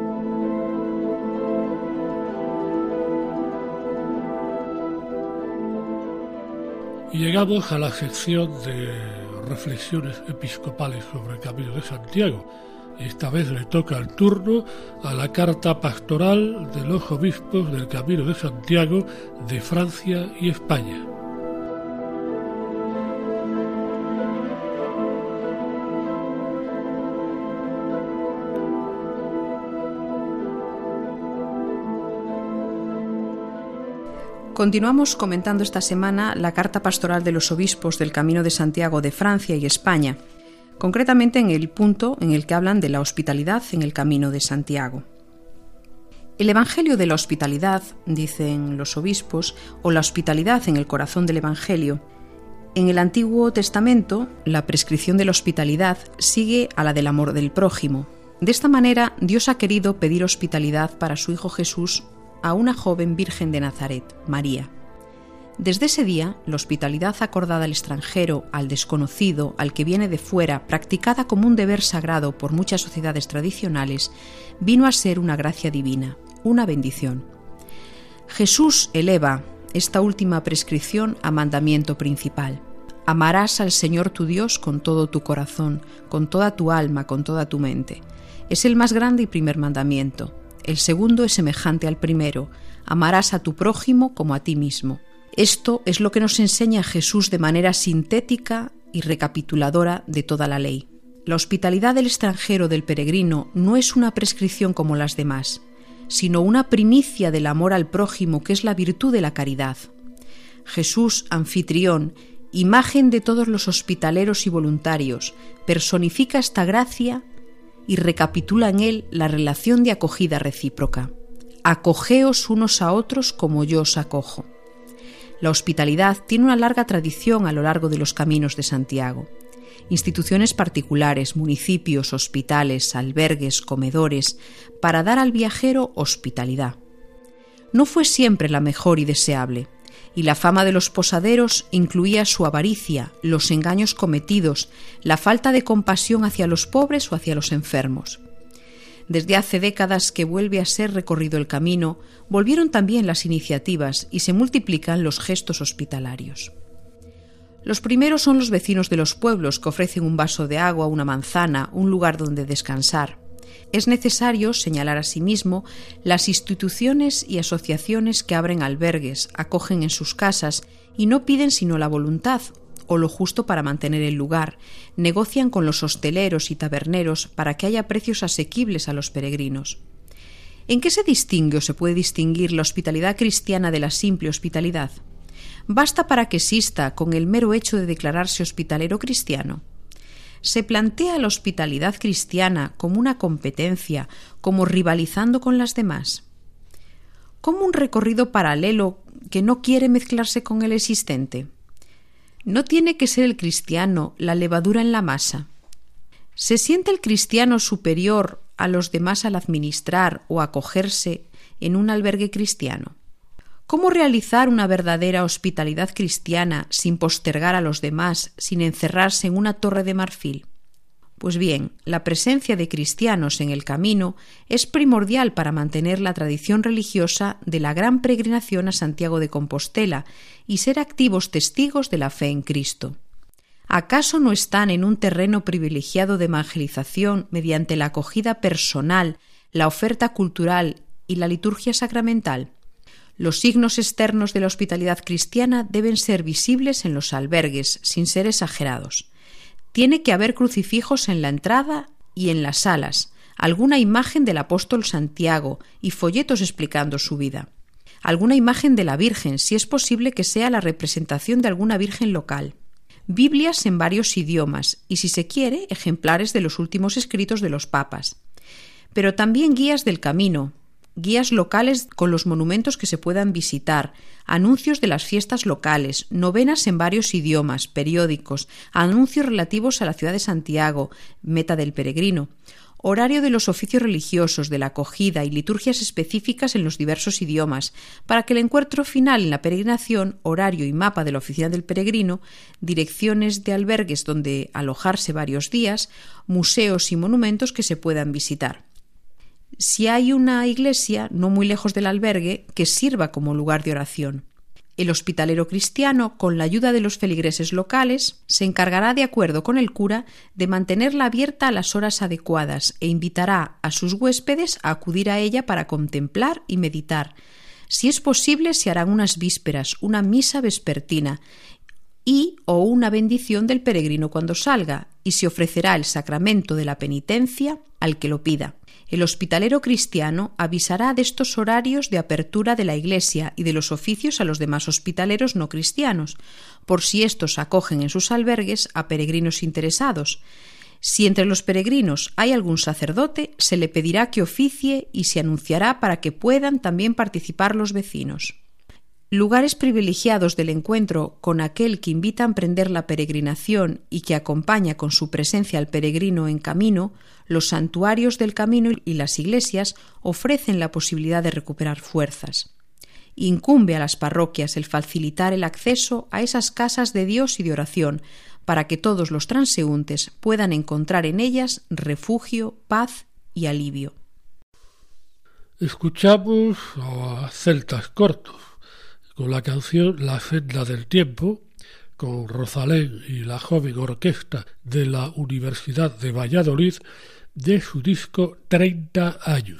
Y llegamos a la sección de reflexiones episcopales sobre el Camino de Santiago. Esta vez le toca el turno a la carta pastoral de los obispos del Camino de Santiago de Francia y España. Continuamos comentando esta semana la carta pastoral de los obispos del Camino de Santiago de Francia y España, concretamente en el punto en el que hablan de la hospitalidad en el Camino de Santiago. El Evangelio de la hospitalidad, dicen los obispos, o la hospitalidad en el corazón del Evangelio. En el Antiguo Testamento, la prescripción de la hospitalidad sigue a la del amor del prójimo. De esta manera, Dios ha querido pedir hospitalidad para su Hijo Jesús a una joven virgen de Nazaret, María. Desde ese día, la hospitalidad acordada al extranjero, al desconocido, al que viene de fuera, practicada como un deber sagrado por muchas sociedades tradicionales, vino a ser una gracia divina, una bendición. Jesús eleva esta última prescripción a mandamiento principal. Amarás al Señor tu Dios con todo tu corazón, con toda tu alma, con toda tu mente. Es el más grande y primer mandamiento. El segundo es semejante al primero. Amarás a tu prójimo como a ti mismo. Esto es lo que nos enseña Jesús de manera sintética y recapituladora de toda la ley. La hospitalidad del extranjero, del peregrino, no es una prescripción como las demás, sino una primicia del amor al prójimo, que es la virtud de la caridad. Jesús, anfitrión, imagen de todos los hospitaleros y voluntarios, personifica esta gracia y recapitula en él la relación de acogida recíproca. Acogeos unos a otros como yo os acojo. La hospitalidad tiene una larga tradición a lo largo de los caminos de Santiago. Instituciones particulares, municipios, hospitales, albergues, comedores, para dar al viajero hospitalidad. No fue siempre la mejor y deseable, y la fama de los posaderos incluía su avaricia, los engaños cometidos, la falta de compasión hacia los pobres o hacia los enfermos. Desde hace décadas que vuelve a ser recorrido el camino, volvieron también las iniciativas y se multiplican los gestos hospitalarios. Los primeros son los vecinos de los pueblos, que ofrecen un vaso de agua, una manzana, un lugar donde descansar. Es necesario señalar asimismo las instituciones y asociaciones que abren albergues, acogen en sus casas y no piden sino la voluntad o lo justo para mantener el lugar, negocian con los hosteleros y taberneros para que haya precios asequibles a los peregrinos. ¿En qué se distingue o se puede distinguir la hospitalidad cristiana de la simple hospitalidad? ¿Basta para que exista con el mero hecho de declararse hospitalero cristiano? ¿Se plantea la hospitalidad cristiana como una competencia, como rivalizando con las demás? ¿Como un recorrido paralelo que no quiere mezclarse con el existente? ¿No tiene que ser el cristiano la levadura en la masa? ¿Se siente el cristiano superior a los demás al administrar o acogerse en un albergue cristiano? ¿Cómo realizar una verdadera hospitalidad cristiana sin postergar a los demás, sin encerrarse en una torre de marfil? Pues bien, la presencia de cristianos en el camino es primordial para mantener la tradición religiosa de la gran peregrinación a Santiago de Compostela y ser activos testigos de la fe en Cristo. ¿Acaso no están en un terreno privilegiado de evangelización mediante la acogida personal, la oferta cultural y la liturgia sacramental? Los signos externos de la hospitalidad cristiana deben ser visibles en los albergues, sin ser exagerados. Tiene que haber crucifijos en la entrada y en las salas, alguna imagen del apóstol Santiago y folletos explicando su vida. Alguna imagen de la Virgen, si es posible que sea la representación de alguna Virgen local. Biblias en varios idiomas y, si se quiere, ejemplares de los últimos escritos de los papas. Pero también guías del camino, guías locales con los monumentos que se puedan visitar, anuncios de las fiestas locales, novenas en varios idiomas, periódicos, anuncios relativos a la ciudad de Santiago, meta del peregrino, horario de los oficios religiosos, de la acogida y liturgias específicas en los diversos idiomas, para que el encuentro final en la peregrinación, horario y mapa de la oficina del peregrino, direcciones de albergues donde alojarse varios días, museos y monumentos que se puedan visitar. Si hay una iglesia, no muy lejos del albergue, que sirva como lugar de oración. El hospitalero cristiano, con la ayuda de los feligreses locales, se encargará, de acuerdo con el cura, de mantenerla abierta a las horas adecuadas e invitará a sus huéspedes a acudir a ella para contemplar y meditar. Si es posible, se harán unas vísperas, una misa vespertina y o una bendición del peregrino cuando salga, y se ofrecerá el sacramento de la penitencia al que lo pida. El hospitalero cristiano avisará de estos horarios de apertura de la iglesia y de los oficios a los demás hospitaleros no cristianos, por si éstos acogen en sus albergues a peregrinos interesados. Si entre los peregrinos hay algún sacerdote, se le pedirá que oficie y se anunciará para que puedan también participar los vecinos. Lugares privilegiados del encuentro con aquel que invita a emprender la peregrinación y que acompaña con su presencia al peregrino en camino, los santuarios del camino y las iglesias ofrecen la posibilidad de recuperar fuerzas. Incumbe a las parroquias el facilitar el acceso a esas casas de Dios y de oración, para que todos los transeúntes puedan encontrar en ellas refugio, paz y alivio. Escuchamos a Celtas Cortos con la canción La senda del tiempo, con Rosalén y la joven orquesta de la Universidad de Valladolid, de su disco 30 años.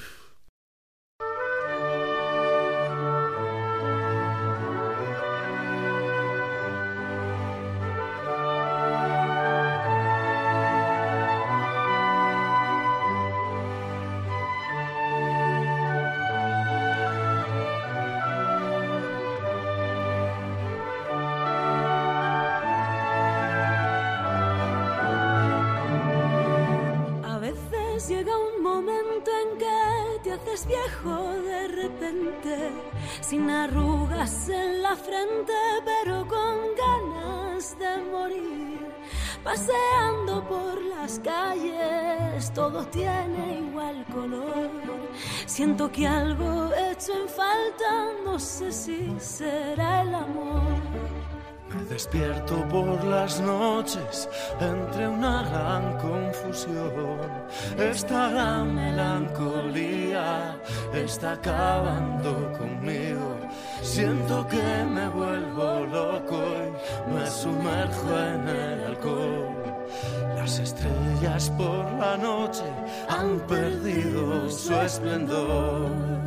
Llega un momento en que te haces viejo de repente, sin arrugas en la frente, pero con ganas de morir. Paseando por las calles, todo tiene igual color. Siento que algo hecho en falta, no sé si será el amor. Me despierto por las noches entre una gran confusión. Esta gran melancolía está acabando conmigo. Siento que me vuelvo loco y me sumerjo en el alcohol. Las estrellas por la noche han perdido su esplendor.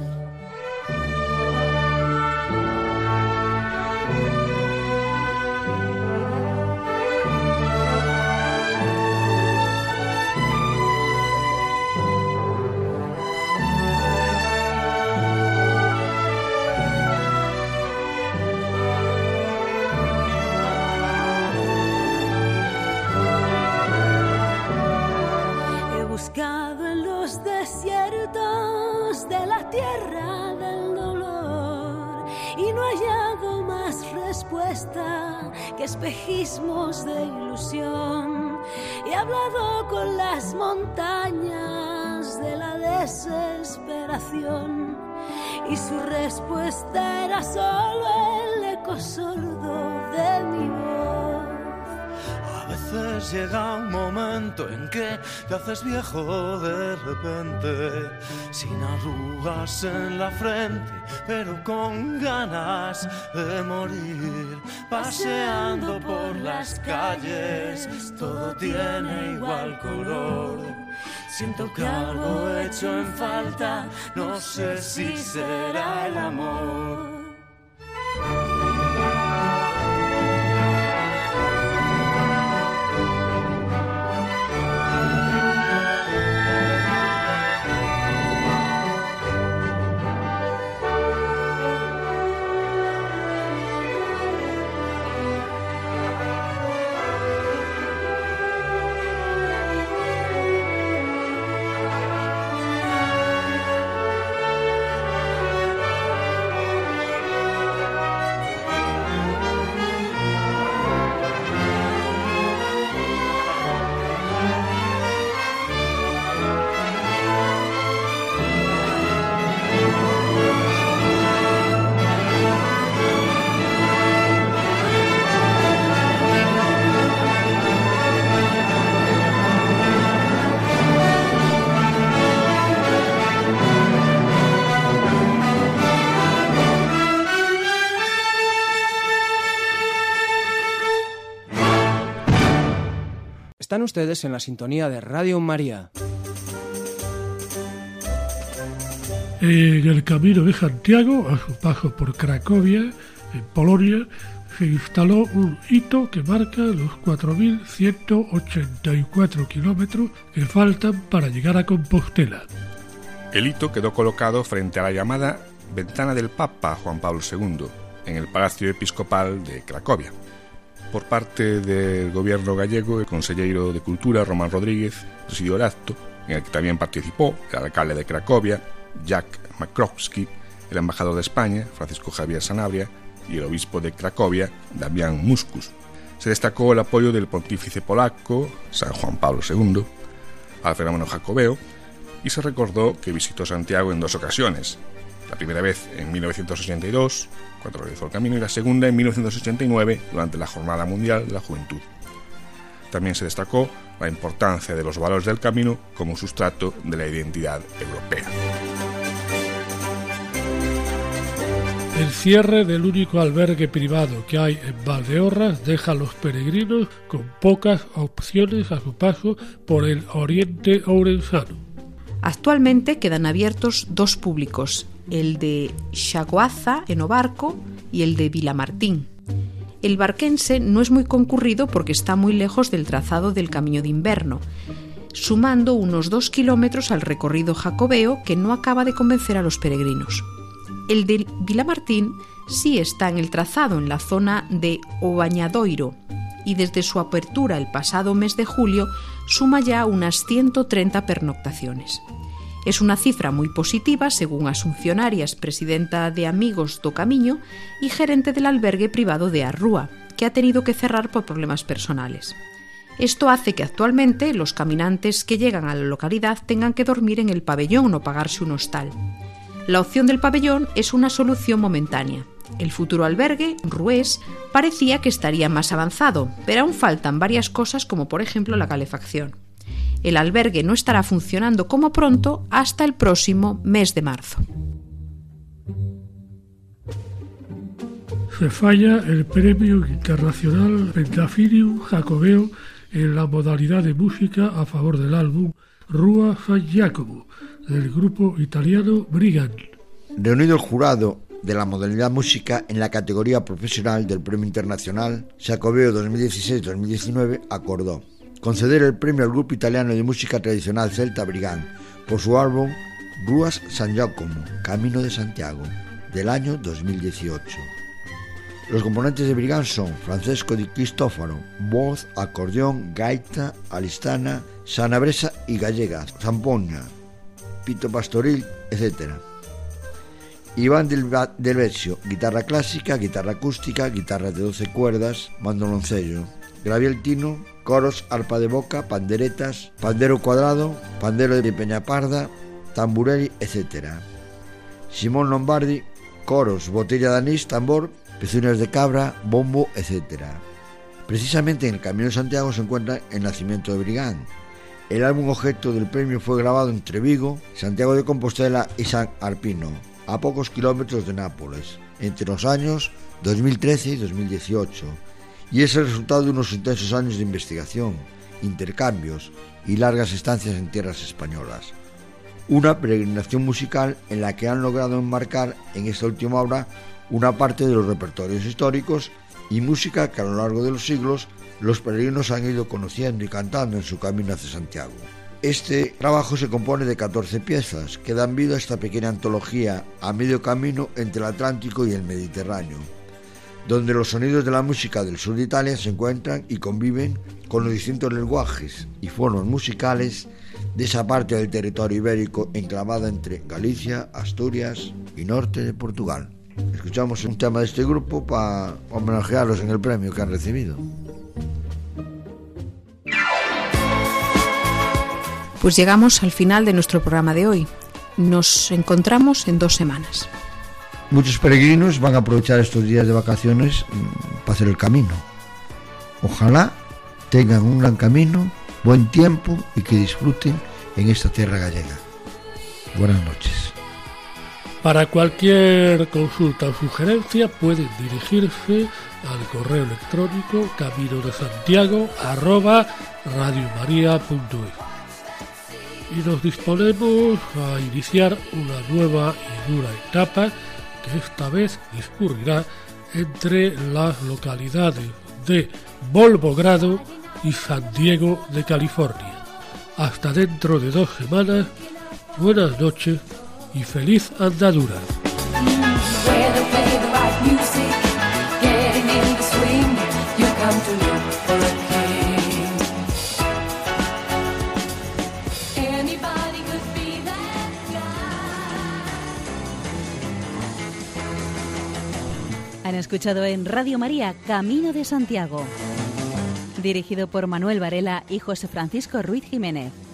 Que espejismos de ilusión. He hablado con las montañas de la desesperación y su respuesta era solo el eco sordo de mi voz. A veces llega un momento en que te haces viejo de repente, sin arrugas en la frente, pero con ganas de morir. Paseando por las calles, todo tiene igual color. Siento que algo he hecho en falta, no sé si será el amor. Están ustedes en la sintonía de Radio María. En el Camino de Santiago, a su paso por Cracovia, en Polonia, se instaló un hito que marca los 4.184 kilómetros que faltan para llegar a Compostela. El hito quedó colocado frente a la llamada Ventana del Papa Juan Pablo II, en el Palacio Episcopal de Cracovia. Por parte del gobierno gallego, el consejero de Cultura, Román Rodríguez, presidió el acto, en el que también participó el alcalde de Cracovia, Jack Makrowski, el embajador de España, Francisco Javier Sanabria, y el obispo de Cracovia, Damián Muscus. Se destacó el apoyo del pontífice polaco, San Juan Pablo II, al fenómeno jacobeo, y se recordó que visitó Santiago en 2 ocasiones, La primera vez en 1982, cuando realizó el camino, y la segunda en 1989, durante la Jornada Mundial de la Juventud. También se destacó la importancia de los valores del camino como sustrato de la identidad europea. El cierre del único albergue privado que hay en Valdeorras deja a los peregrinos con pocas opciones a su paso por el oriente ourensano. Actualmente quedan abiertos dos públicos, el de Xaguaza en Obarco y el de Vilamartín. El barquense no es muy concurrido porque está muy lejos del trazado del Camino de Inverno, sumando unos 2 kilómetros al recorrido jacobeo que no acaba de convencer a los peregrinos. El de Vilamartín sí está en el trazado, en la zona de Obañadoiro, y desde su apertura el pasado mes de julio suma ya unas 130 pernoctaciones. Es una cifra muy positiva, según Asunción Arias, presidenta de Amigos do Camiño y gerente del albergue privado de Arrúa, que ha tenido que cerrar por problemas personales. Esto hace que actualmente los caminantes que llegan a la localidad tengan que dormir en el pabellón o pagarse un hostal. La opción del pabellón es una solución momentánea. El futuro albergue, Rués, parecía que estaría más avanzado, pero aún faltan varias cosas como por ejemplo la calefacción. El albergue no estará funcionando como pronto hasta el próximo mes de marzo. Se falla el Premio Internacional Pentafinium Jacobeo en la modalidad de música a favor del álbum Rua San Giacomo, del grupo italiano Brigand. Reunido el jurado de la modalidad música en la categoría profesional del Premio Internacional Jacobeo 2016-2019, acordó conceder el premio al grupo italiano de música tradicional celta Brigand por su álbum Rua San Giacomo, Camino de Santiago, del año 2018. Los componentes de Brigand son Francesco Di Cristofaro, voz, acordeón, gaita, alistana, sanabresa y gallega, zampoña, pito pastoril, etc. Iván del Vecchio, guitarra clásica, guitarra acústica, guitarra de 12 cuerdas, mandoloncello. Gabriel Tino, coros, arpa de boca, panderetas, pandero cuadrado, pandero de Peñaparda, tamburelli, etc. Simón Lombardi, coros, botella de anís, tambor, pezuñas de cabra, bombo, etc. Precisamente en el Camino de Santiago se encuentra el nacimiento de Brigand. El álbum objeto del premio fue grabado entre Vigo, Santiago de Compostela y San Arpino, a pocos kilómetros de Nápoles, entre los años 2013 y 2018, y es el resultado de unos intensos años de investigación, intercambios y largas estancias en tierras españolas. Una peregrinación musical en la que han logrado enmarcar en esta última obra una parte de los repertorios históricos y música que a lo largo de los siglos los peregrinos han ido conociendo y cantando en su camino hacia Santiago. Este trabajo se compone de 14 piezas que dan vida a esta pequeña antología a medio camino entre el Atlántico y el Mediterráneo, donde los sonidos de la música del sur de Italia se encuentran y conviven con los distintos lenguajes y formas musicales de esa parte del territorio ibérico enclavada entre Galicia, Asturias y norte de Portugal. Escuchamos un tema de este grupo para homenajearlos en el premio que han recibido. Pues llegamos al final de nuestro programa de hoy. Nos encontramos en 2 semanas. Muchos peregrinos van a aprovechar estos días de vacaciones para hacer el camino. Ojalá tengan un gran camino, buen tiempo y que disfruten en esta tierra gallega. Buenas noches. Para cualquier consulta o sugerencia pueden dirigirse al correo electrónico caminodesantiago@radiomaria.es. Y nos disponemos a iniciar una nueva y dura etapa que esta vez discurrirá entre las localidades de Volvogrado y San Diego de California. Hasta dentro de 2 semanas, buenas noches y feliz andadura. Han escuchado en Radio María Camino de Santiago, dirigido por Manuel Varela y José Francisco Ruiz Jiménez.